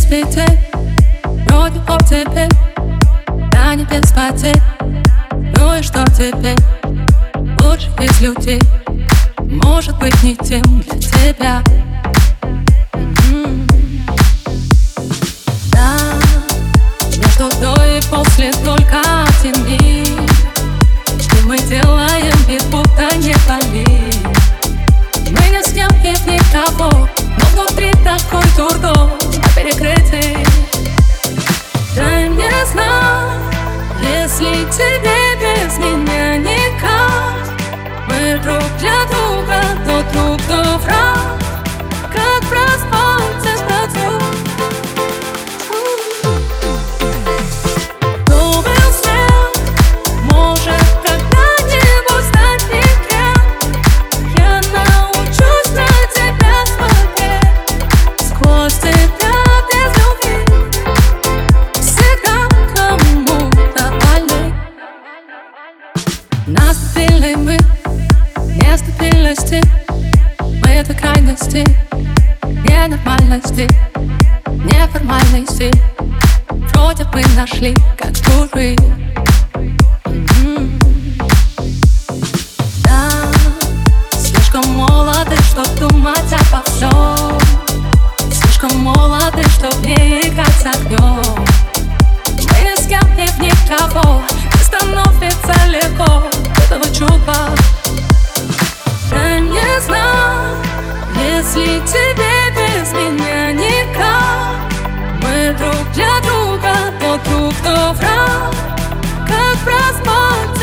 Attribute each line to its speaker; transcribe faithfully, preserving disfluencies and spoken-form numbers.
Speaker 1: светит, вроде об тебе, до небес потек. Ну и что теперь? Лучше из людей, может быть, не тем для тебя. М-м-м. Да, между до и после только один миг, и мы делаем вид, будто не болит. Мы не с кем и в никого, но внутри такой дурдом перекрытый. Дай мне знак, если тебе без меня никак. Мы друг для друга, то друг, то враг. Как проспаться ночью. Кто был свет, может когда-нибудь стать никем. Я научусь на тебя смотреть сквозь тебя без любви. Всегда кому-то больны. Наступили мы, нестабильности. Мы до крайности, ненормальности, неформальности. Вроде бы нашли, как дуры. М-м. Да, слишком молоды, чтоб думать обо всем. Слишком молоды, чтоб не играть с огнем. Мы ни с кем и в никого, не становится легко этого чува. Дай мне знак, если тебе без меня никак. Мы друг для друга, то друг, то враг. Как проспать